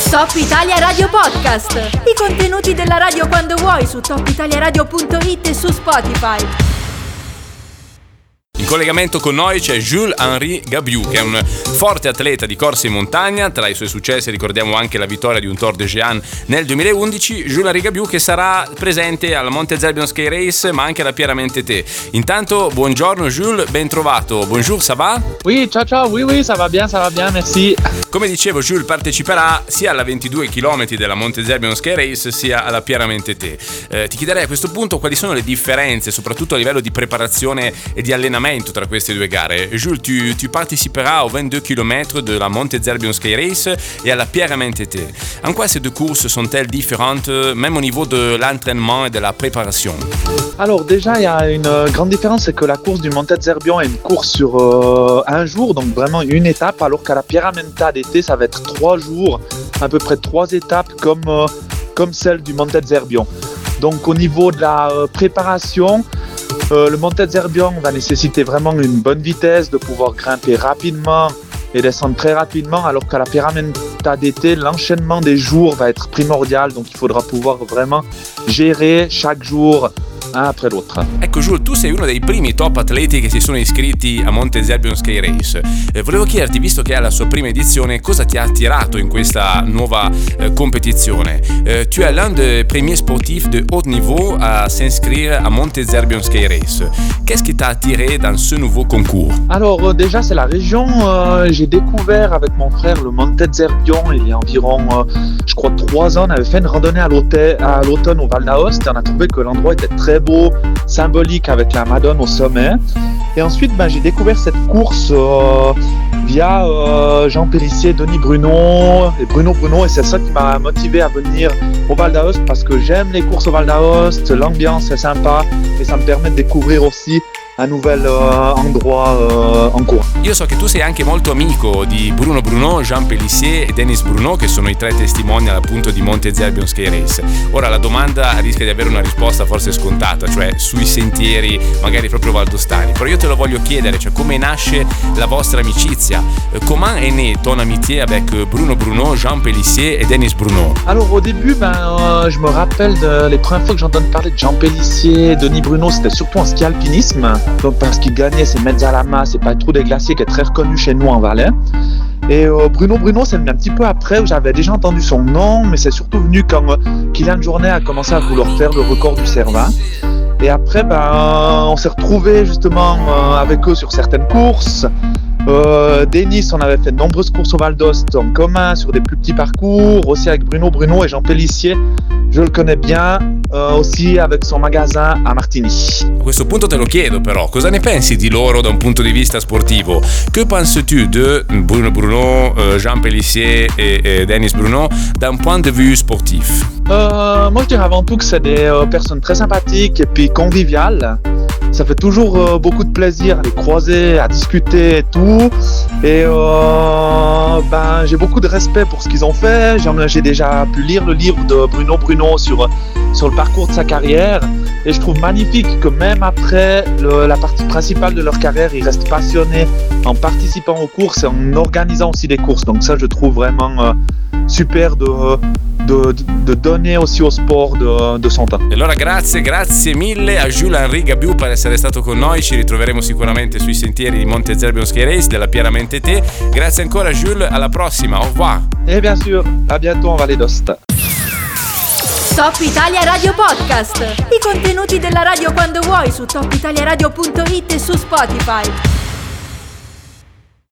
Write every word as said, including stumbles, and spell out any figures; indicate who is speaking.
Speaker 1: Top Italia Radio Podcast. I contenuti della radio quando vuoi su top italia radio punto it e su Spotify.
Speaker 2: In collegamento con noi c'è Jules-Henri Gabiou, che è un forte atleta di corsa in montagna. Tra i suoi successi ricordiamo anche la vittoria di un Tour de Géant nel duemilaundici. Jules-Henri Gabiou che sarà presente alla Monte Zerbion Ski Race ma anche alla Pierre-Mentété. Intanto buongiorno Jules, ben trovato. Bonjour, ça va?
Speaker 3: Oui, ciao ciao, oui oui, ça va bien, ça va bien, merci.
Speaker 2: Come dicevo, Jules parteciperà sia alla ventidue chilometri della Monte Zerbion Ski Race sia alla Pierre-Mentété. Eh, ti chiederei a questo punto quali sono le differenze, soprattutto a livello di preparazione e di allenamento tra queste due gare. Jules, tu, tu participeras aux vingt-deux kilomètres de la Monte Zerbion Ski Race et à la Pierre-Mentété. En quoi ces deux courses sont-elles différentes, même au niveau de l'entraînement et de la préparation?
Speaker 3: Alors déjà, il y a une grande différence, c'est que la course du Monte Zerbion est une course sur euh, un jour, donc vraiment une étape, alors qu'à la Pierre-Mentété, ça va être trois jours, à peu près trois étapes comme, euh, comme celle du Monte Zerbion. Donc au niveau de la euh, préparation, euh, le Monte Zerbion va nécessiter vraiment une bonne vitesse, de pouvoir grimper rapidement et descendre très rapidement, alors qu'à la Pierre-Mentété, l'enchaînement des jours va être primordial, donc il faudra pouvoir vraiment gérer chaque jour un après l'autre.
Speaker 2: Ecco Jules, tu sei uno dei primi top atleti che si sono iscritti a Monte Zerbion Ski Race. Eh, volevo chiederti, visto che è la sua prima edizione, cosa ti ha attirato in questa nuova eh, compétition? Eh, tu es l'un des premiers sportifs de haut niveau à s'inscrire à Monte Zerbion Ski Race. Qu'est-ce qui t'a attiré dans ce nouveau concours?
Speaker 3: Alors euh, déjà c'est la région, euh, j'ai découvert avec mon frère le Monte Zerbion il y a environ, euh, je crois trois ans. On avait fait une randonnée à l'automne au Val d'Aoste et on a trouvé que l'endroit était très beau, symbolique avec la Madone au sommet. Et ensuite ben, j'ai découvert cette course euh, via euh, Jean Pélissier, Denis Bruno et Bruno Bruno, et c'est ça qui m'a motivé à venir au Val d'Aoste, parce que j'aime les courses au Val d'Aoste, l'ambiance est sympa et ça me permet de découvrir aussi un nouvel uh, endroit uh, en cours.
Speaker 2: Io so che tu sei anche molto amico di Bruno Bruno, Jean Pélissier e Denis Bruno, che sono i tre testimonial appunto di Monte Zerbion Ski Race. Ora la domanda rischia di avere una risposta forse scontata, cioè sui sentieri magari proprio valdostani, però io te lo voglio chiedere, cioè come nasce la vostra amicizia? Comment est née ton amitié avec Bruno Bruno, Jean Pélissier et Denis Bruno?
Speaker 3: Alors au début, ben, euh, je me rappelle de, les premières fois que j'entends parler de Jean Pélissier, Denis Bruno, c'était surtout en ski alpinisme. Donc parce qu'il gagnait ses Mezzalama, c'est pas trop des glaciers, qui est très reconnu chez nous en Valais. Et euh, Bruno Bruno, c'est venu un petit peu après, où j'avais déjà entendu son nom, mais c'est surtout venu quand euh, Kylian Jornet a commencé à vouloir faire le record du Cervin. Et après, ben, on s'est retrouvés justement euh, avec eux sur certaines courses. Euh, Denis, on avait fait de nombreuses courses au Val d'Aoste en commun, sur des plus petits parcours, aussi avec Bruno Bruno et Jean Pélissier. Je le connais bien, euh, aussi avec son magasin a Martigny.
Speaker 2: A questo punto te lo chiedo però, cosa ne pensi di loro da un punto di vista sportivo? Que penses-tu de Bruno Bruno, euh, Jean Pélissier et, et Denis Bruno d'un point de vue sportif?
Speaker 3: euh, Moi je dirais avant tout que c'est des euh, personnes très sympathiques et puis conviviales. Ça fait toujours euh, beaucoup de plaisir à les croiser, à discuter et tout. Et euh, ben, j'ai beaucoup de respect pour ce qu'ils ont fait. J'ai, j'ai déjà pu lire le livre de Bruno Bruno sur, sur le parcours de sa carrière. Et je trouve magnifique que même après le, la partie principale de leur carrière, ils restent passionnés en participant aux courses et en organisant aussi des courses. Donc ça, je trouve vraiment euh, super de... De, de donner aussi au sport de, de son temps.
Speaker 2: E allora grazie, grazie mille a Jules-Henri Gabiou per essere stato con noi. Ci ritroveremo sicuramente sui sentieri di Monte Zerbion Ski Race della Pierre-Mentété. Grazie ancora Jules, alla prossima, au revoir.
Speaker 3: Et bien sûr, à bientôt en Vallée d'Aoste.
Speaker 1: Top Italia Radio Podcast. I contenuti della radio quando vuoi su top italia radio punto it e su Spotify.